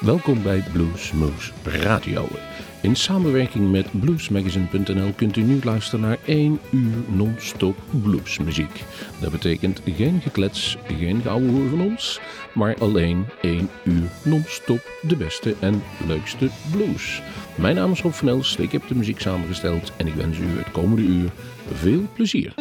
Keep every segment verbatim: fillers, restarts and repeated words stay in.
Welkom bij Bluesmoose Radio. In samenwerking met bluesmagazine punt n l kunt u nu luisteren naar één uur non-stop bluesmuziek. Dat betekent geen geklets, geen geouwehoer van ons, maar alleen één uur non-stop de beste en leukste blues. Mijn naam is Rob van Els, ik heb de muziek samengesteld en ik wens u het komende uur veel plezier.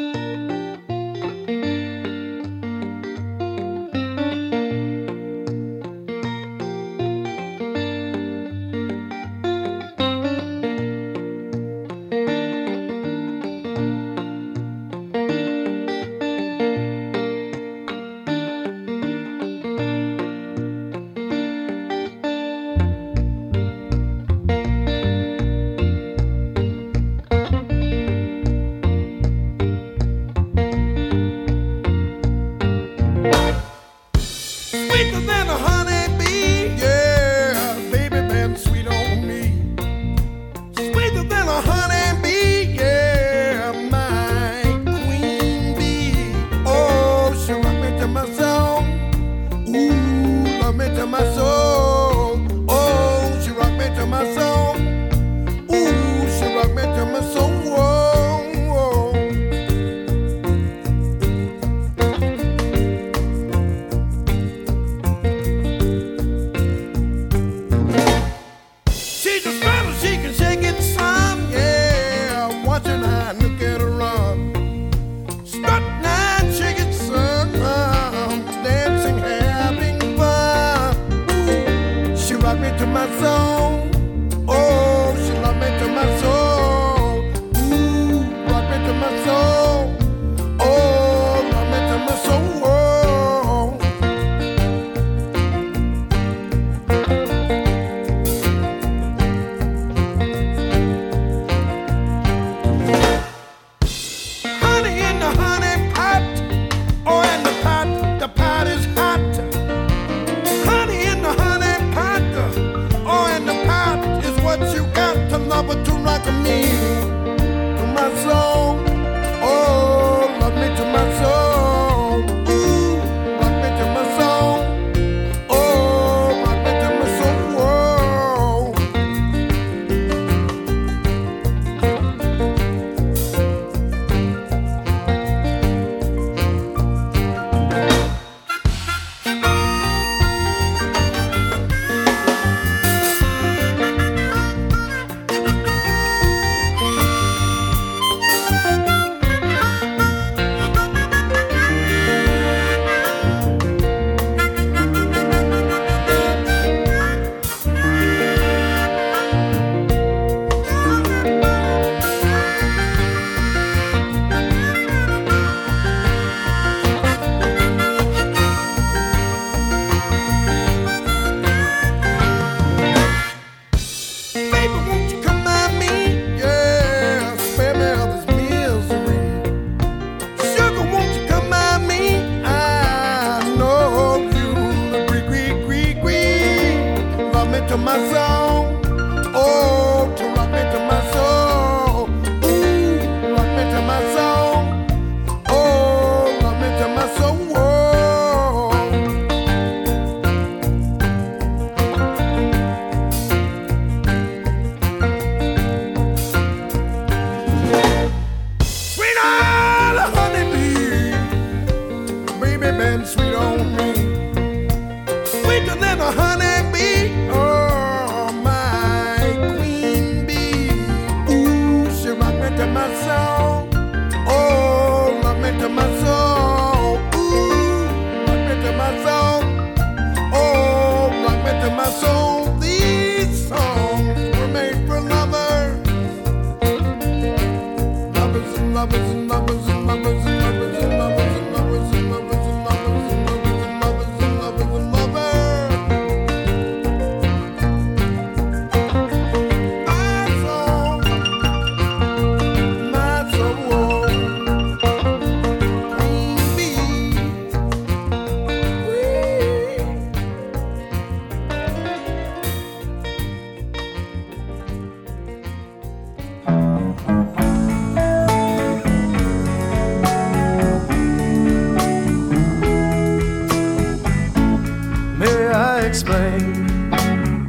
explain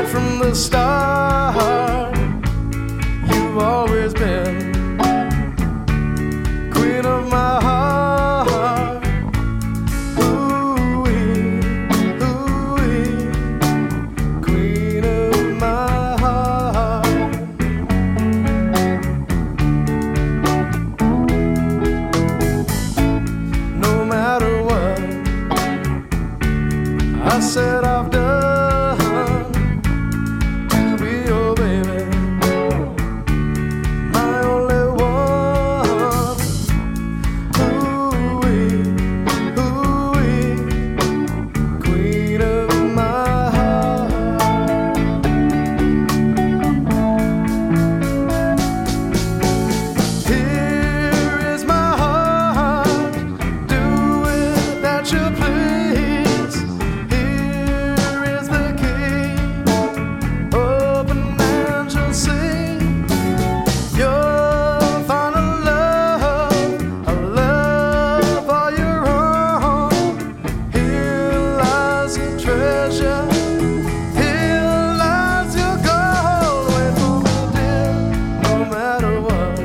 from the start. You've always been queen of my heart. Ooh-wee, ooh-wee, queen of my heart. No matter what I said I've done to be your baby, my only one. Ooh-wee, ooh-wee, queen of my heart. Here is my heart, do it that you please. Here is the key, open and you'll see your final love, a love all your own. Here lies your treasure, here lies your gold. Wait for me, dear, no matter what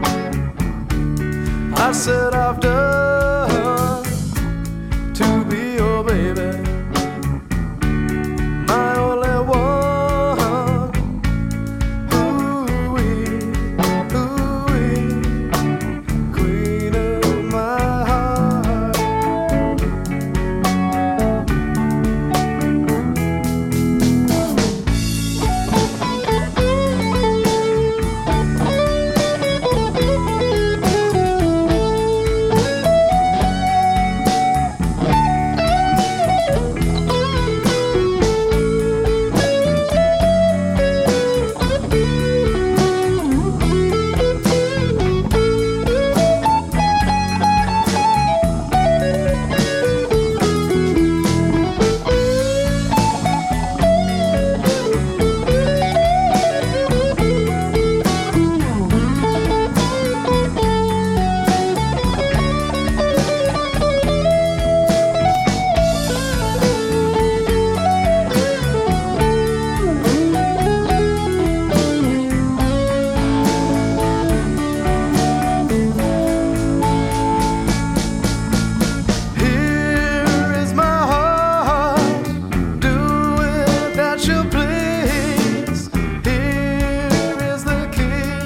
I said I've done to be your baby, my only one. Ooh-wee, ooh-wee, queen of my heart. Here is my heart, do it that you please. Here is the key,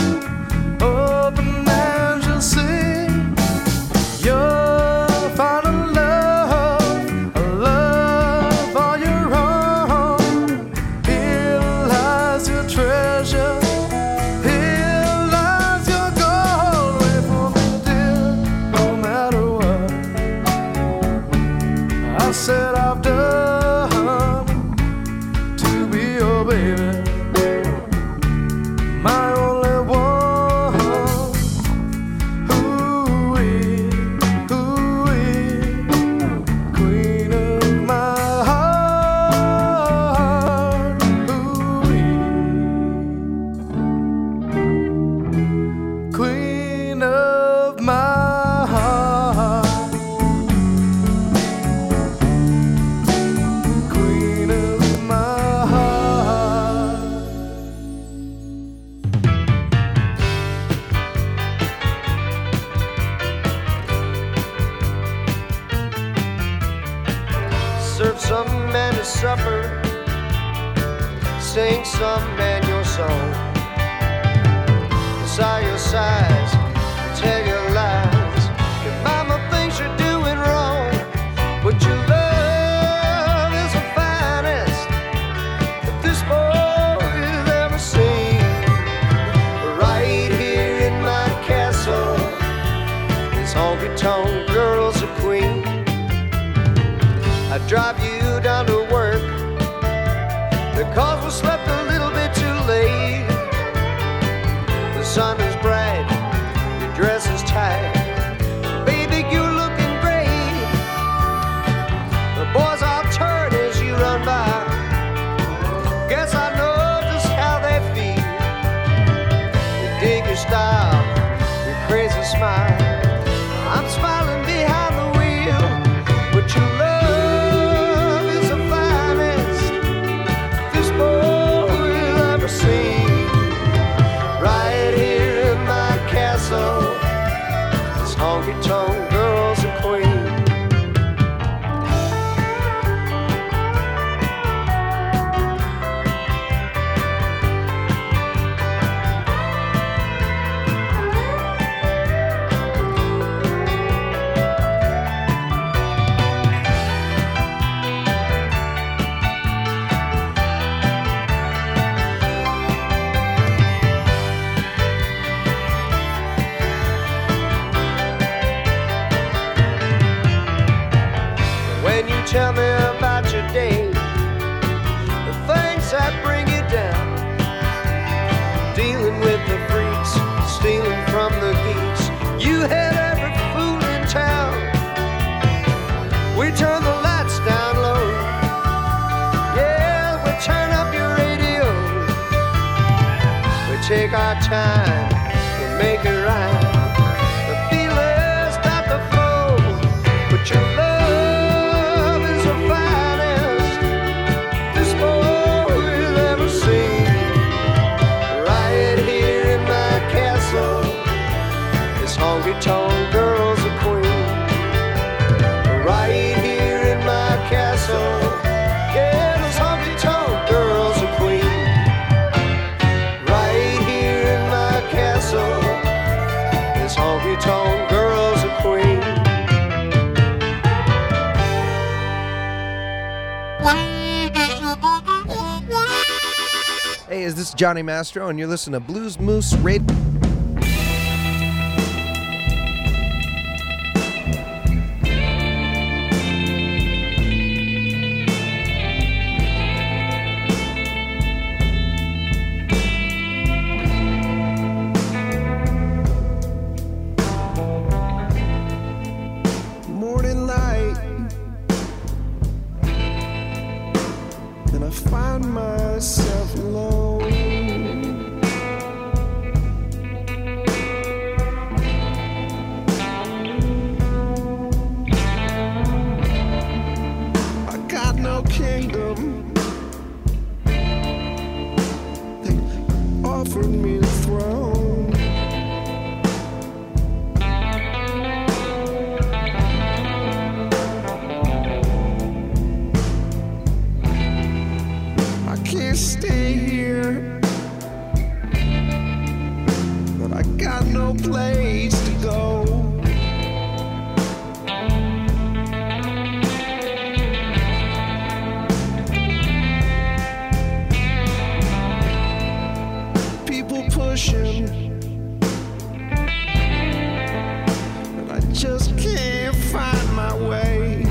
open and you'll see your final love, a love all your own. Here lies your treasure, here lies your gold. Wait for me, dear, no matter what I said I've done to be your baby, my only one. Ooh-wee, ooh-wee, queen of my heart. Ooh-wee, queen of my heart. Queen of my heart. Serve some man a supper, sing some man your song, sigh your sighs, tell your lies. Your mama thinks you're doing wrong, but your love is the finest that this boy has ever seen. Right here in my castle, this honky-tonk girl's a queen. I drive you down to work because we slept a little bit too late. The sun is bright, your dress is tight, baby, you're looking great. The boys all turn as you run by. Guess I know just how they feel. They dig your style, your crazy smile. I'm smiling behind the wheel, but your love Can you tell me about your day? The things that bring you down. Dealing with the freaks, stealing from the geeks. You had every fool in town. We turn the lights down low. Yeah, we turn up your radio. We take our time, we make it right. The feelings start to flow, but your love is the finest this boy has ever seen. Right here in my castle, this honky-tonk girl's a queen. Right here in my castle, yeah, this honky-tonk girl's a queen. Right here in my castle, this honky-tonk girl's a queen. Hey, is this Johnny Mastro, and you're listening to Blues Moose Radio. Morning light, and I find myself alone. I got no kingdom. They offered me the throne. I can't stay here, but I got no place to go. People pushing, and I just can't find my way.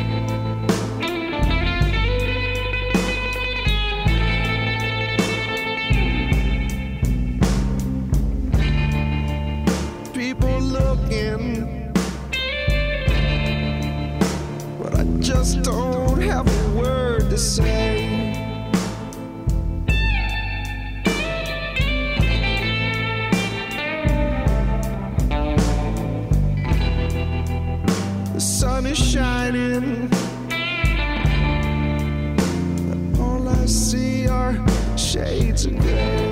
People looking, but I just don't have a word to say. The sun is shining, but all I see are shades of gray.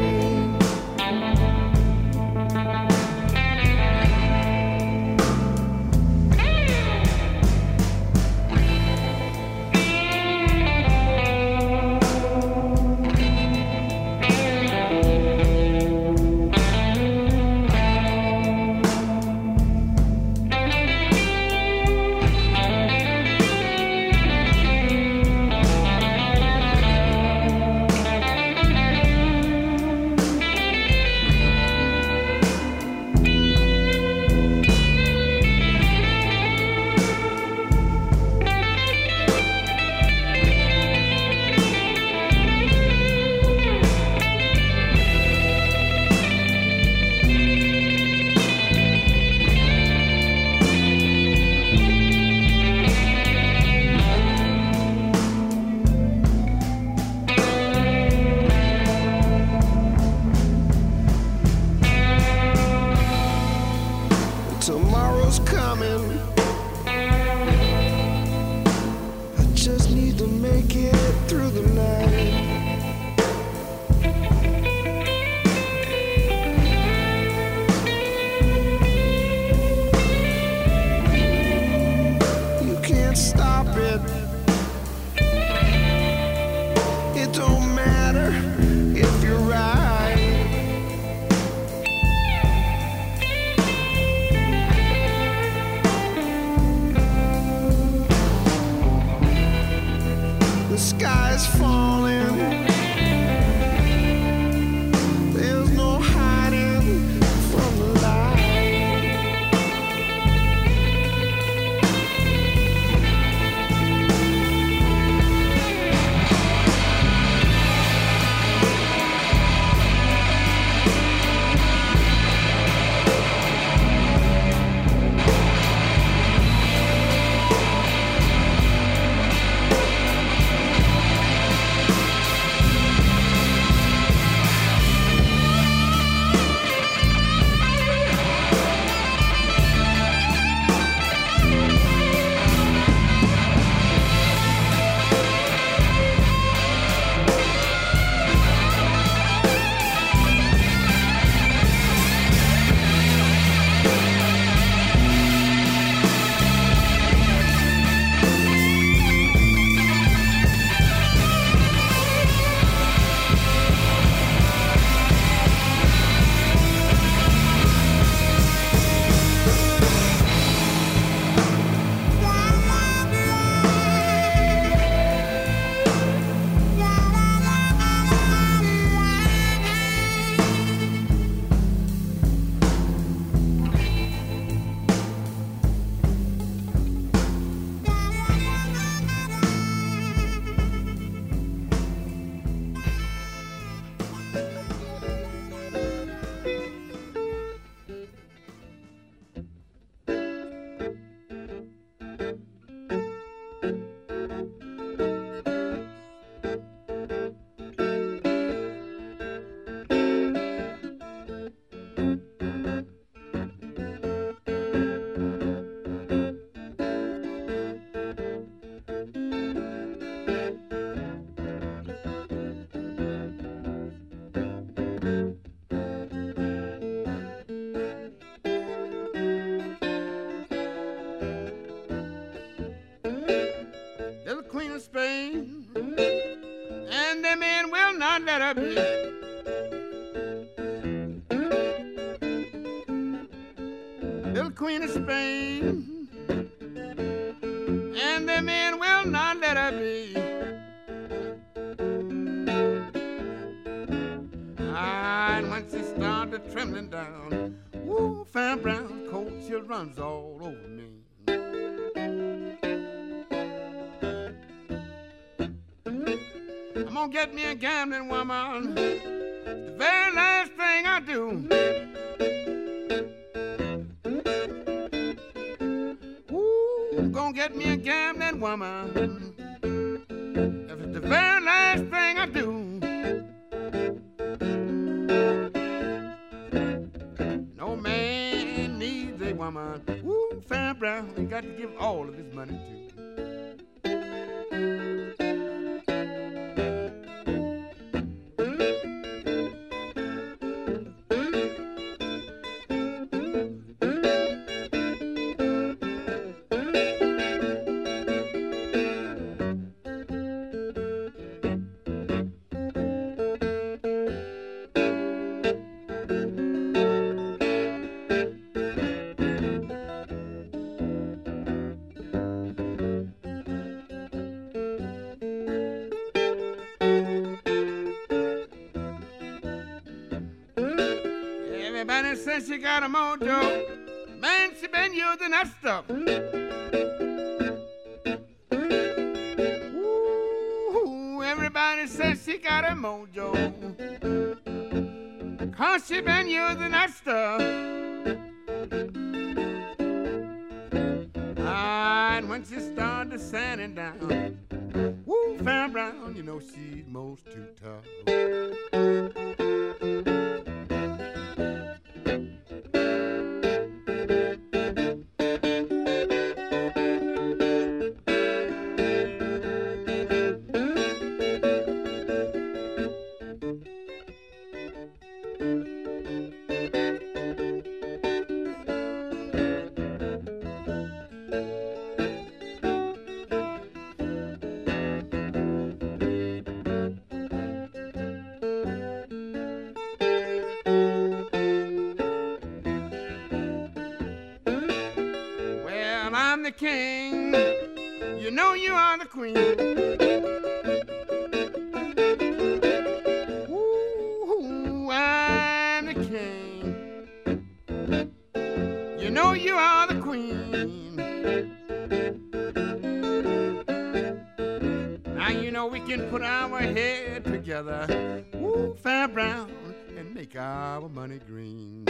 I be. Little Queen of Spain, and the men will not let her be. Ah, and once she started trembling down, woo, fine brown cold chill runs all over me. I'm gonna get me a gambling woman, the very last thing I do. Ooh, I'm gonna get me a gambling woman, if it's the very last thing I do. No man needs a woman, ooh, fair brown, he got to give all of his money to. Everybody says she got a mojo, man, she been using that stuff. Ooh, everybody says she got a mojo, cause she been using that stuff. Ah, and when she started sanding down, woo, Fair Brown, you know she's most too tough. I'm the king, you know you are the queen. Ooh, I'm the king, you know you are the queen. Now you know we can put our head together, ooh, Fair Brown, and make our money green.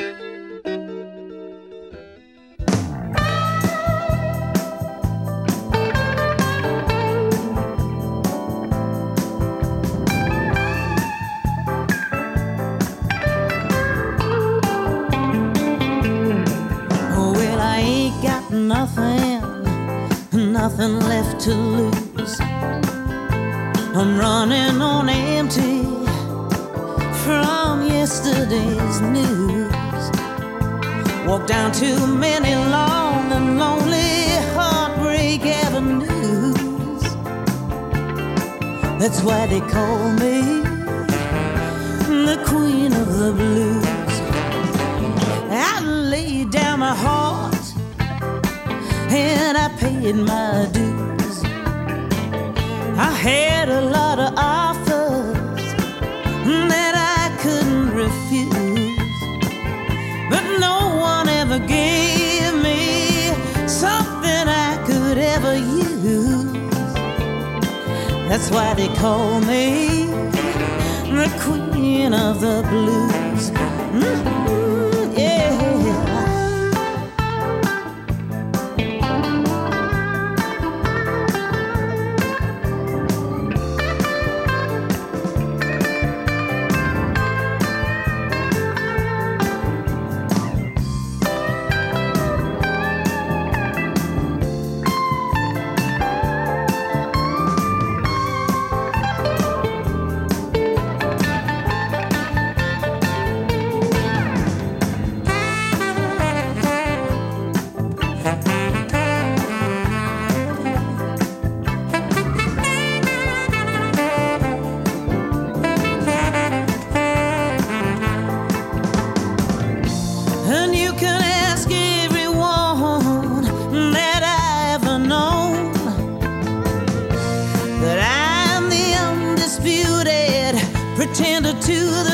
Nothing, nothing left to lose. I'm running on empty from yesterday's news. Walk down too many long and lonely heartbreak avenues. That's why they call me the Queen of the Blues. I laid down my heart and I paid my dues. I had a lot of offers that I couldn't refuse, but no one ever gave me something I could ever use. That's why they call me the Queen of the Blues. Mm-hmm, yeah.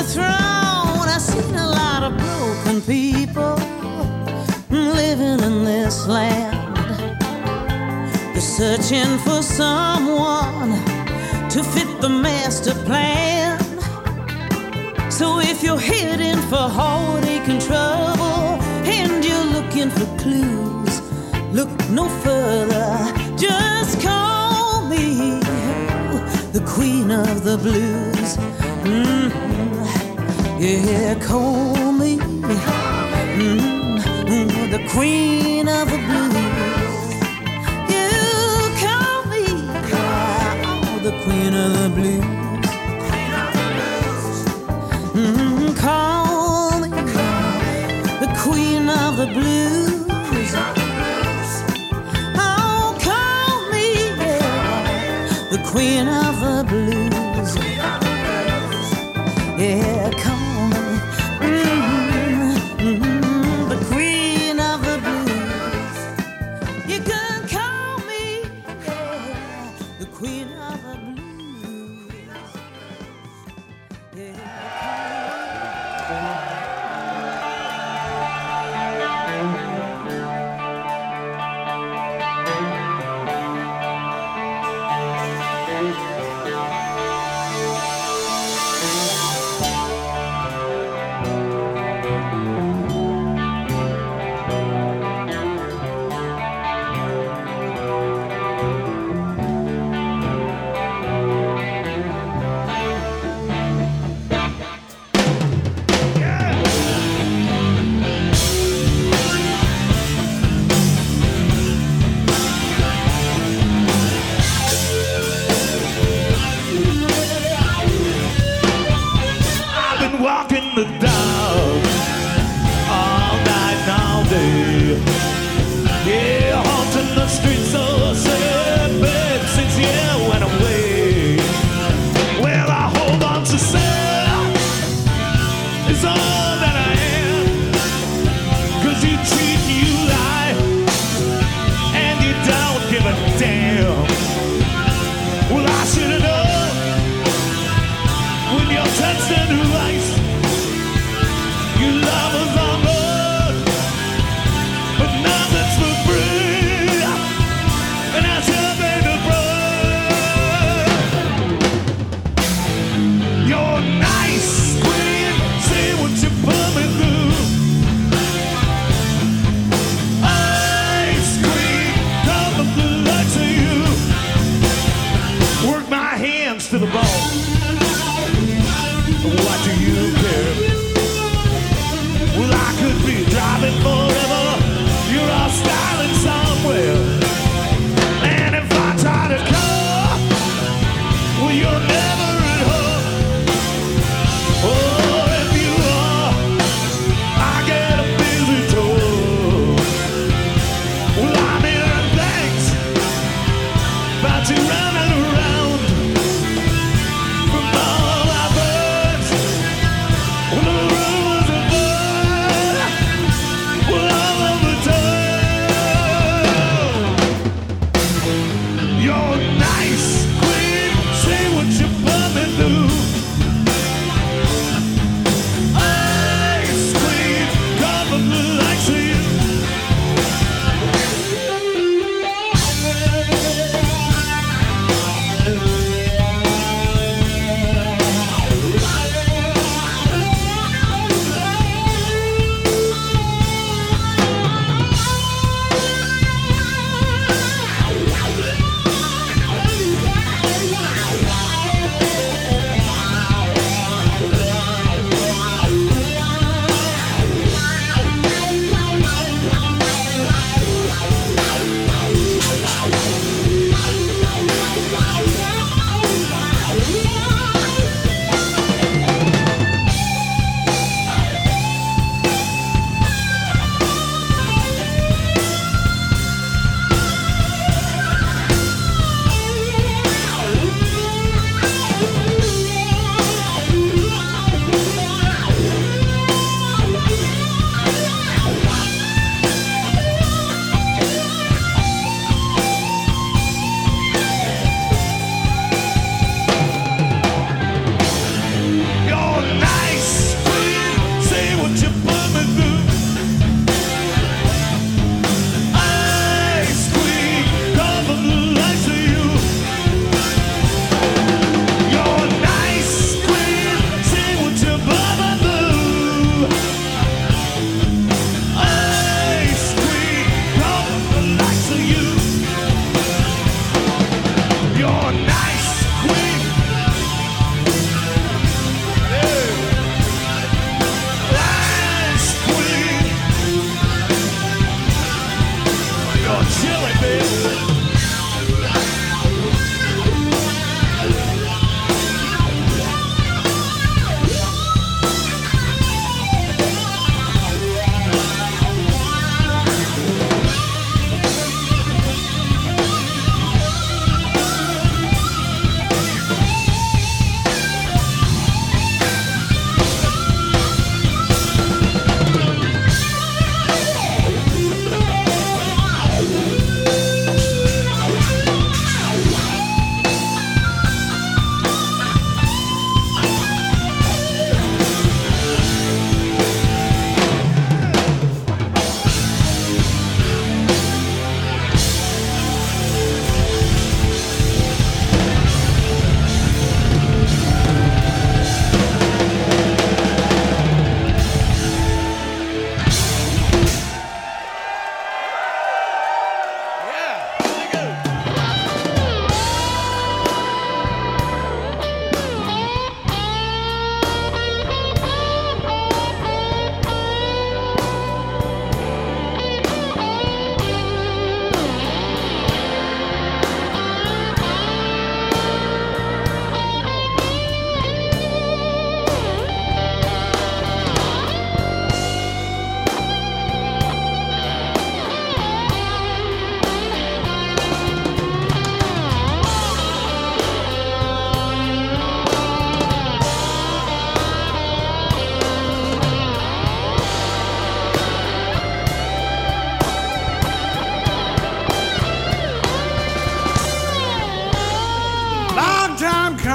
throne. I've seen a lot of broken people living in this land. They're searching for someone to fit the master plan. So if you're heading for heartache and trouble and you're looking for clues, look no further, just call me the queen of the blues. Mm-hmm. Yeah, call me mm-hmm. the queen of the blues. You call me oh, the queen of the blues. Mm-hmm. Call me the queen of the blues. The queen of the blues. Yeah, call me mm-hmm, mm-hmm, the queen of the blues. You can call me yeah, the queen of the blues. Yeah, walking the dog all night and all day. Yeah, haunting the streets so sad, babe, since you went away. Well, I hold on to self, it's all that I am. Cause you treat you lie, and you don't give a damn. Well, I should've known when you touched the new ice. Your love was on board, but nothing's for free, and I still pay the price. You're nice, queen, say what you put me through. Ice cream, come up the lights of you.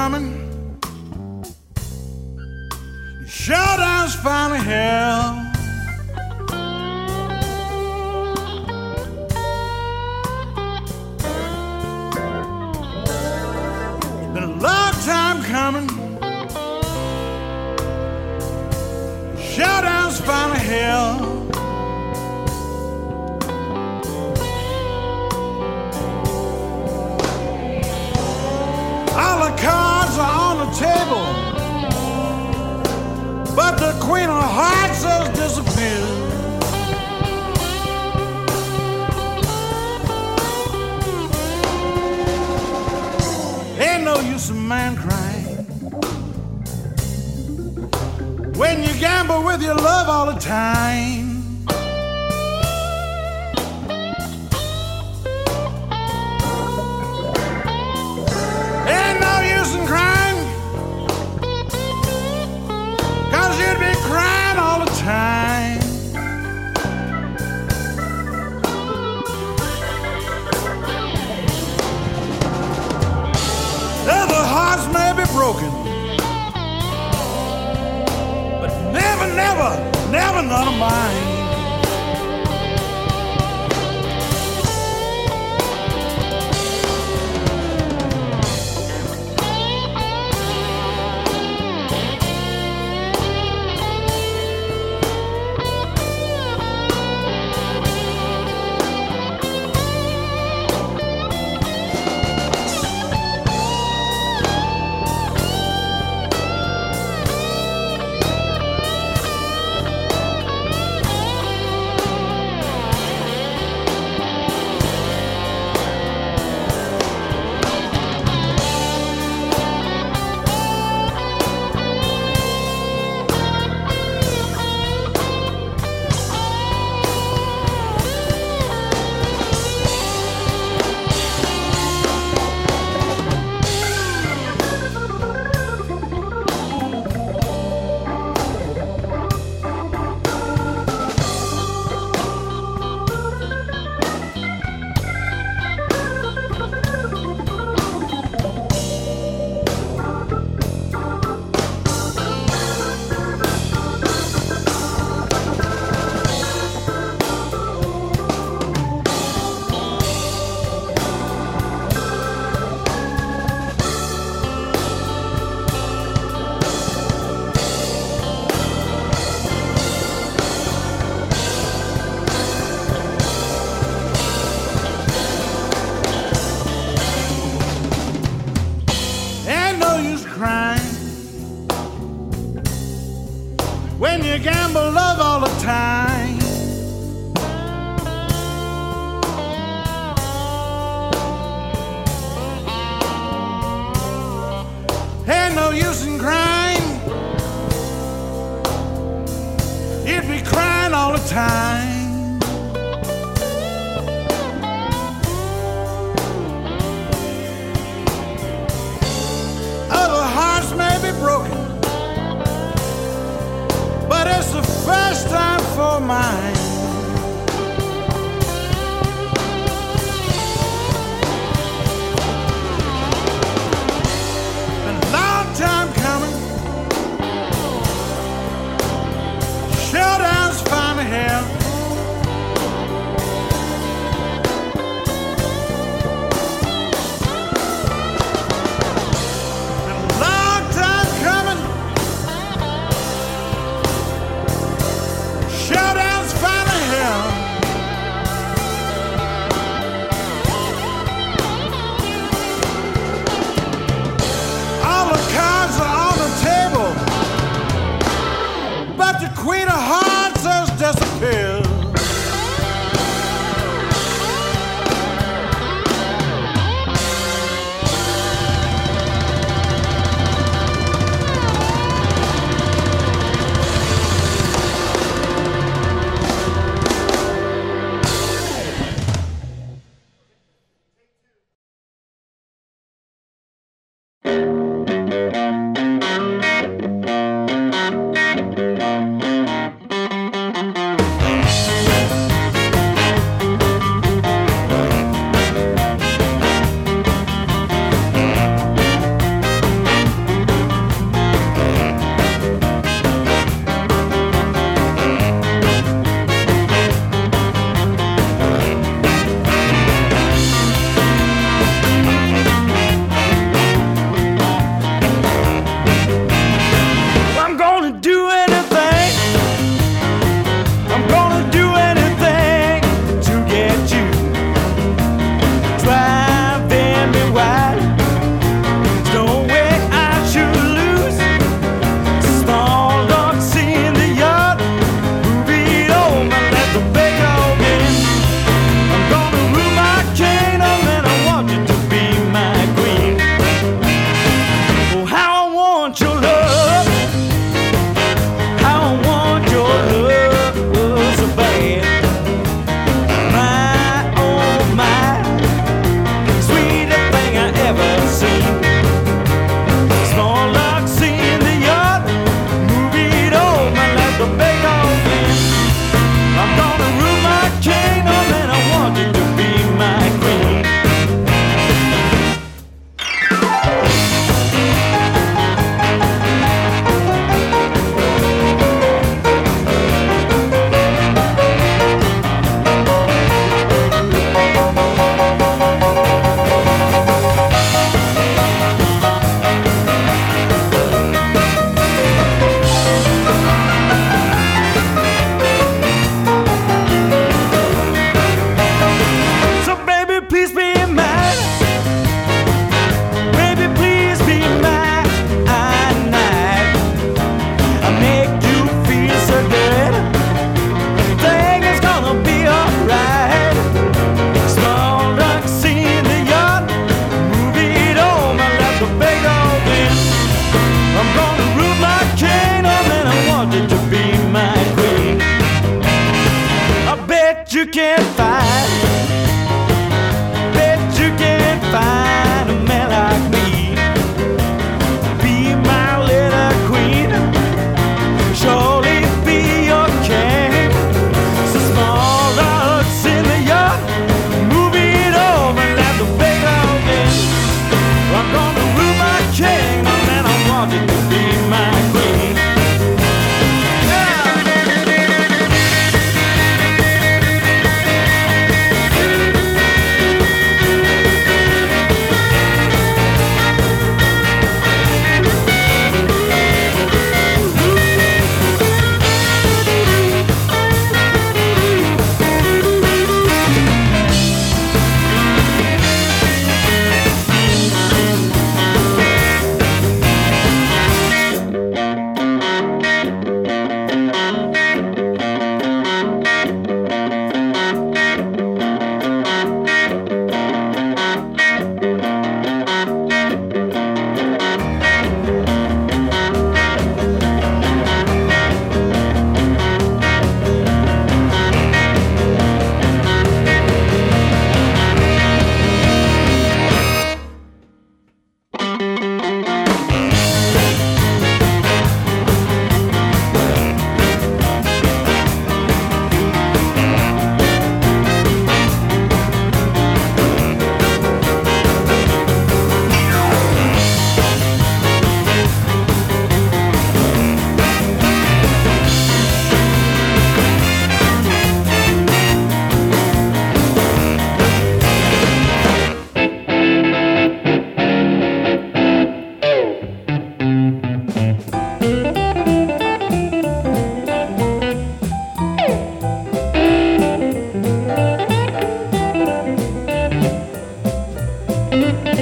coming. Showdown's finally hell. It's been a long time coming. Showdown's finally hell. All the cards are on the table, but the Queen of Hearts has disappeared. Ain't no use in man crying when you gamble with your love all the time. Ain't no use in crying, 'cause you'd be crying all the time. Other hearts may be broken, but never, never, never none of mine. When you gamble love all the time, ain't no use in crying, you'd be crying all the time. Other hearts may be broken, but it's the first time for mine. Been a long time coming. Showdown's finally here. Been a long time coming. Showdown's fine.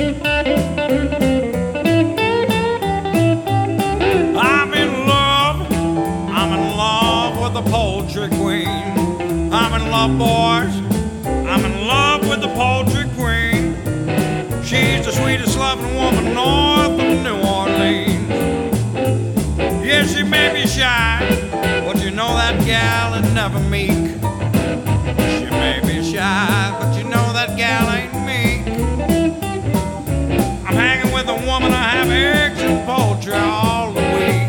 I'm in love, I'm in love with the poultry queen. I'm in love, boys, I'm in love with the poultry queen. She's the sweetest loving woman north of New Orleans. Yeah, she may be shy, but you know that gal is never meek. She may be shy, but you know that gal ain't meek. I'm hanging with a woman, I have eggs and poultry all the week.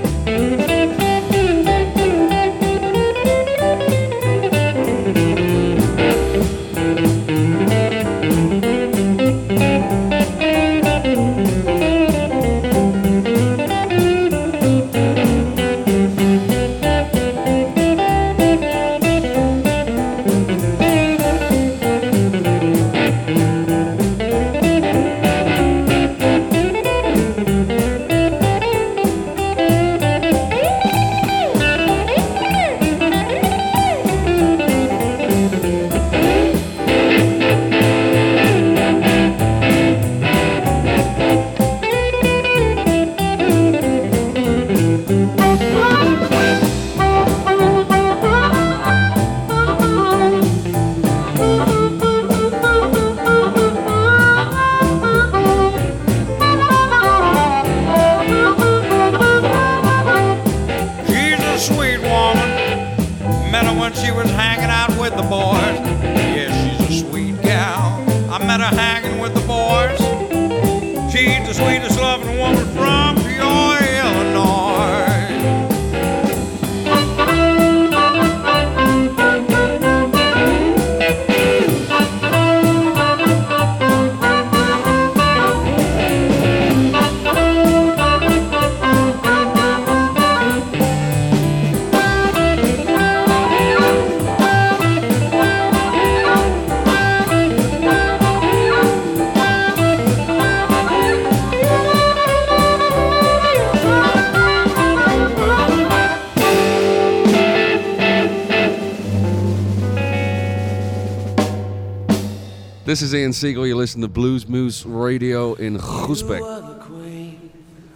This is Ian Siegel. You listen to Blues Moose Radio in Groesbeek. You are the queen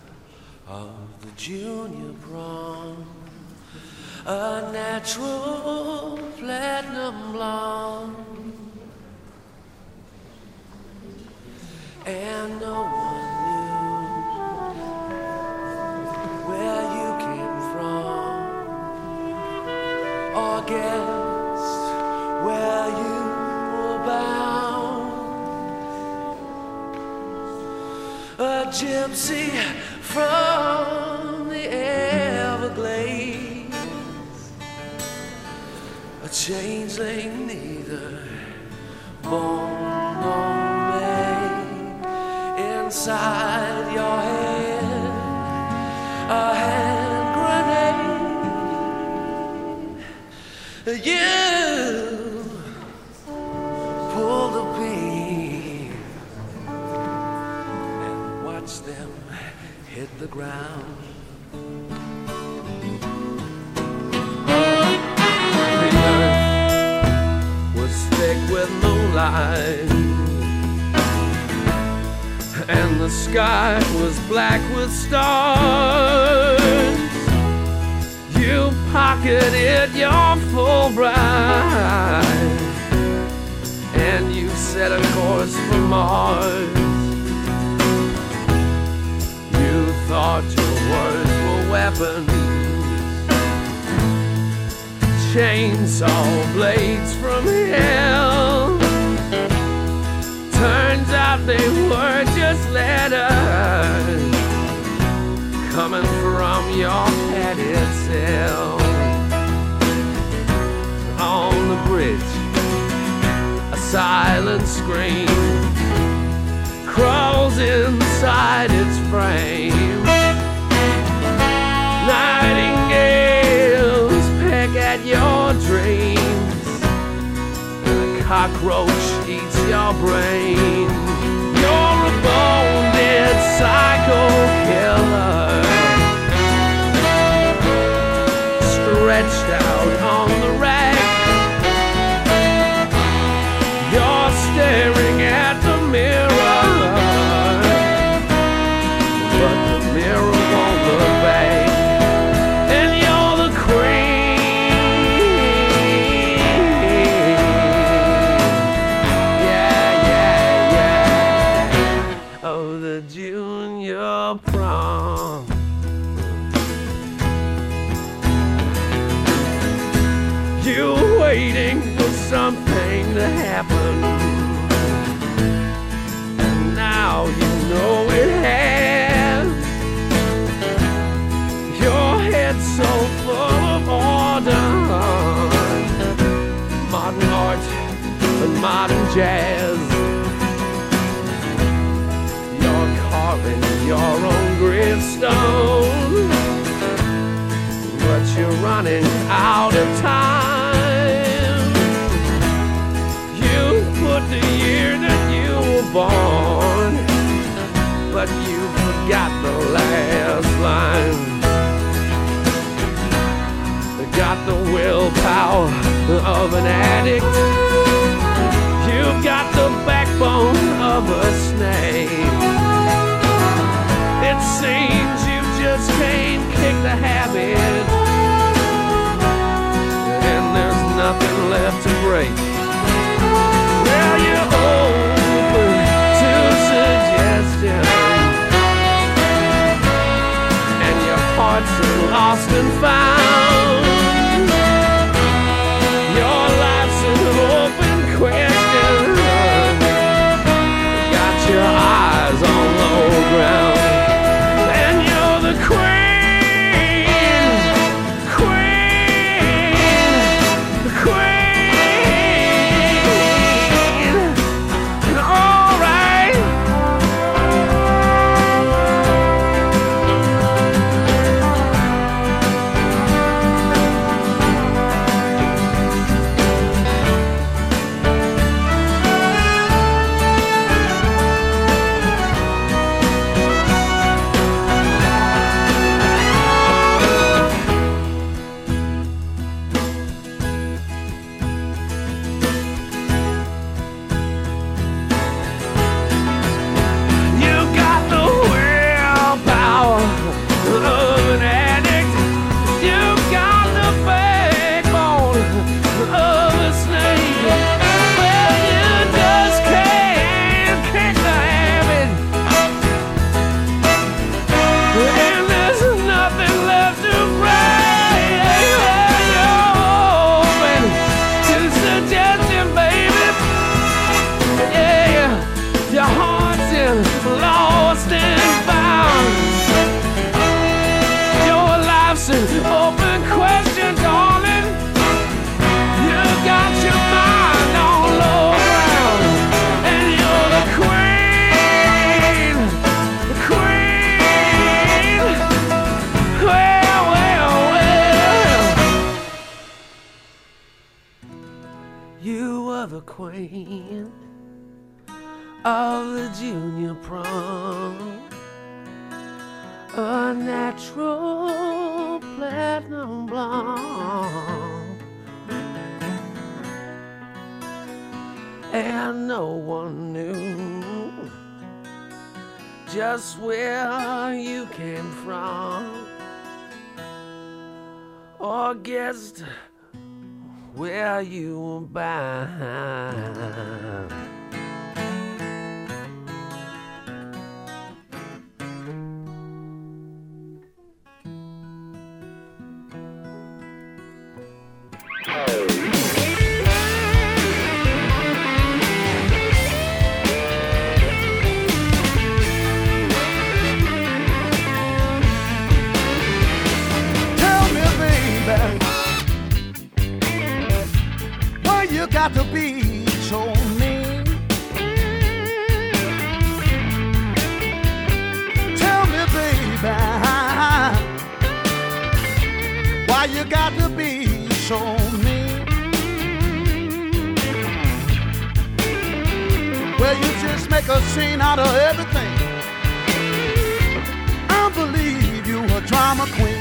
of the junior prom, a natural platinum blonde, and no one knew where you came from or guessed where you were bound. A gypsy from the Everglades, a changeling neither born nor made. Inside your head, a hand grenade. You pull the beam and watch them hit the ground. The earth was thick with moonlight, and the sky was black with stars. You pocketed your Fulbright, and you set a course for Mars. You thought your words were weapons, chainsaw blades from hell. Turns out they were just letters coming from your padded cell. On the bridge, a silent scream crawls inside its frame. Nightingales peck at your dreams, and a cockroach eats your brain. You're a bone-dead psycho killer, stretched out on the rack. You're staring at the mirror, of the junior prom. You're waiting for something to happen, and now you know it has. Your head's so full of order, modern art and modern jazz. You're carving your own gravestone, but you're running out of time. You put the year that you were born, but you forgot the last line. Got the willpower of an addict. You've got the backbone of a snake. It seems you just can't kick the habit, and there's nothing left to break. Well, you're open to suggestion, and your heart's lost and found. Your life's an open question. Got your eyes on low ground, and you're the queen, queen, queen. All right. Queen of the junior prom, a natural platinum blonde, and no one knew just where you came from or guessed where you were bound. You got to be so mean. Tell me, baby, why you got to be so mean? Well, you just make a scene out of everything. I believe you a drama queen.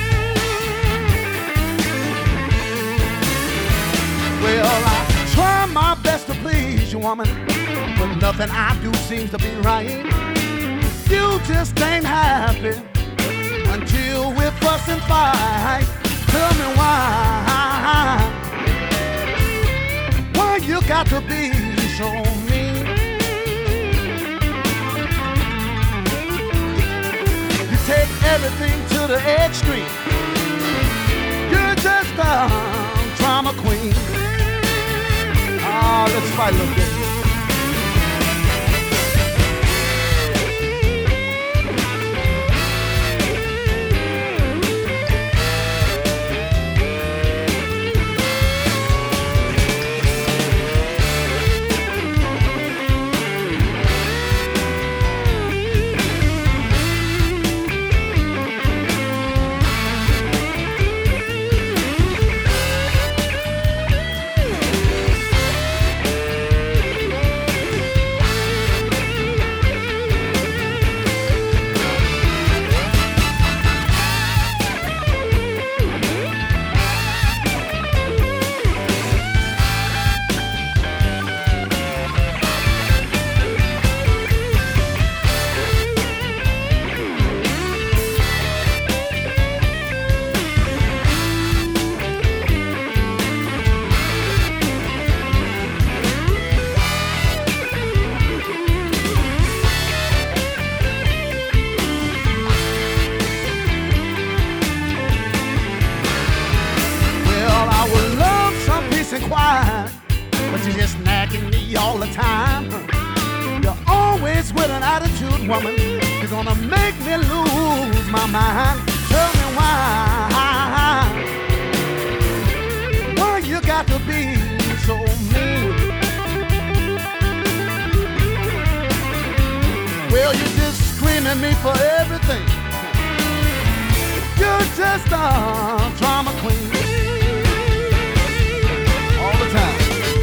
Well, I try my best to please you, woman, but nothing I do seems to be right. You just ain't happy until we fuss and fight. Tell me why, why you got to be so mean? everything to the extreme. You're just a drama queen. Ah, let's fight a little bit. Woman, you're gonna make me lose my mind. Tell me why, why you got to be so mean? Well, you just scream at me for everything. You're just a drama queen all the time.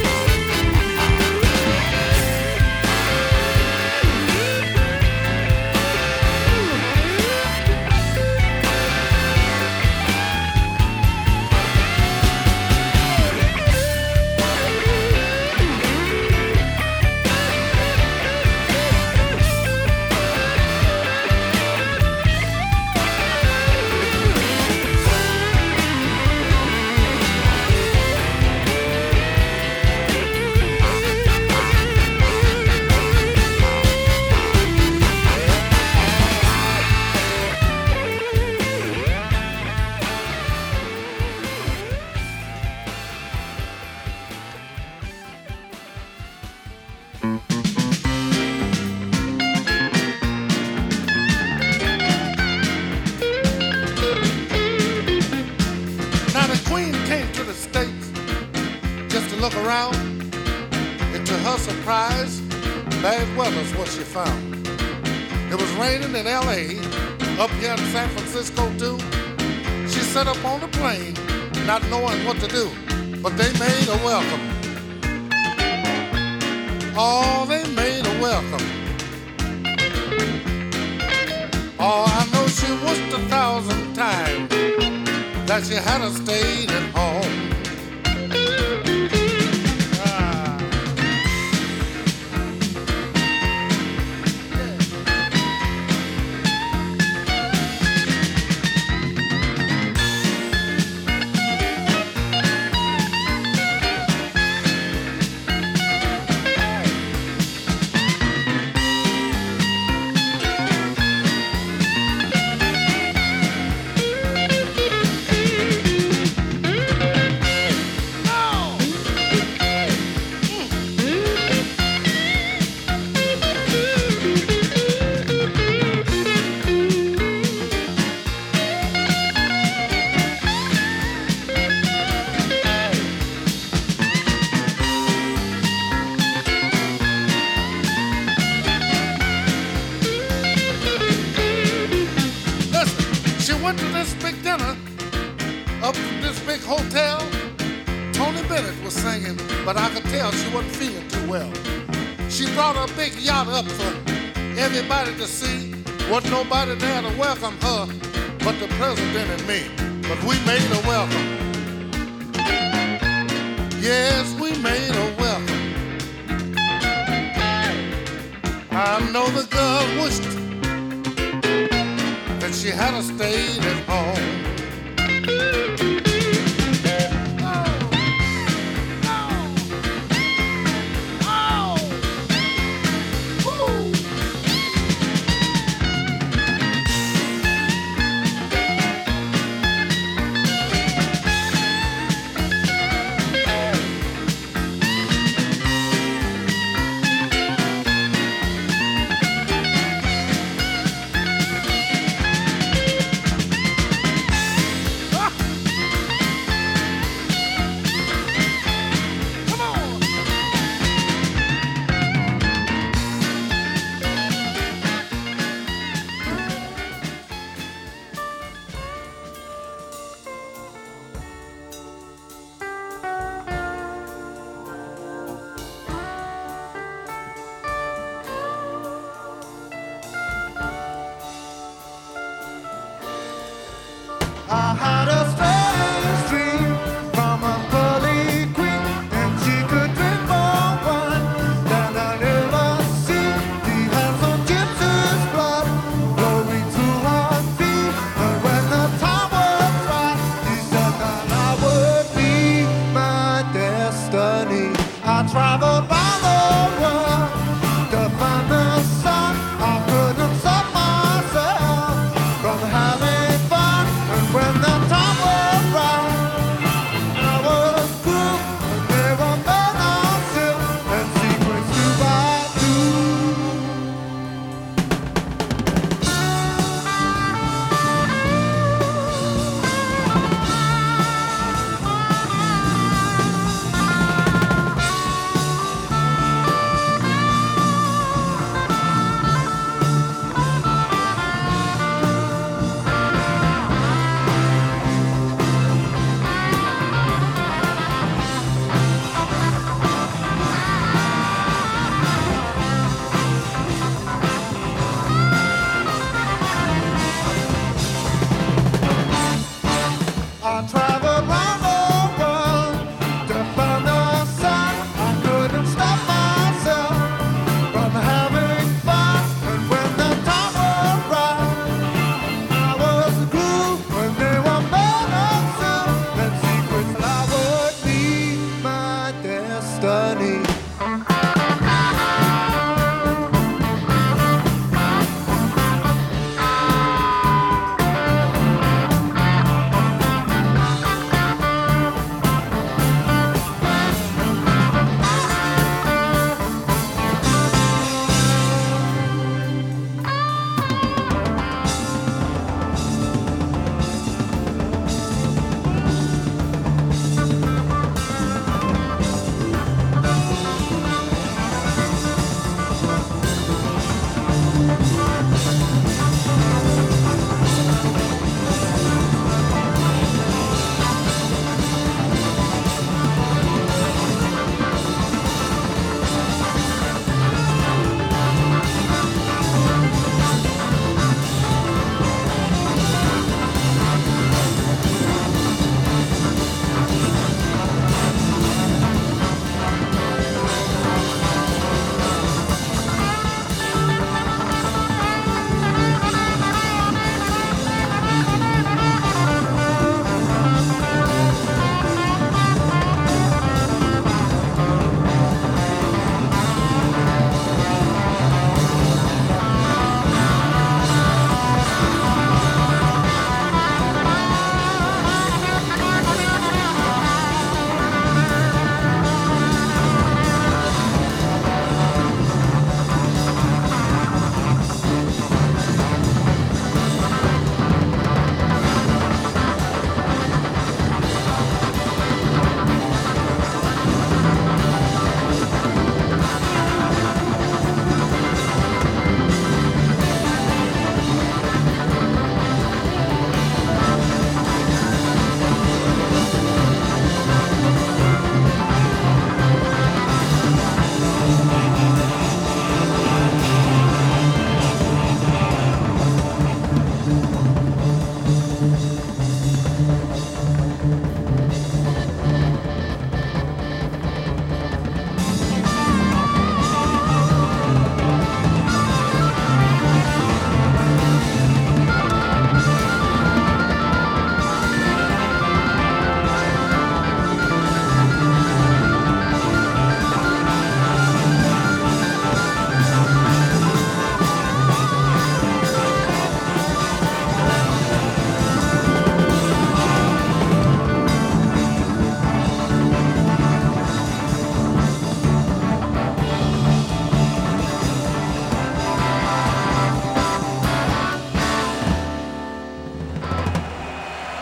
In L A, up here in San Francisco too. She sat up on the plane, not knowing what to do, but they made her welcome. Oh, they made her welcome. Oh, I know she wished a thousand times that she had stayed at home. But I could tell she wasn't feeling too well. She brought a big yacht up for everybody to see. Wasn't nobody there to welcome her but the president and me. But we made her welcome. Yes, we made her welcome. I know the girl wished that she had stayed at home.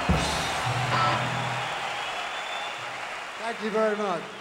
Thank you very much.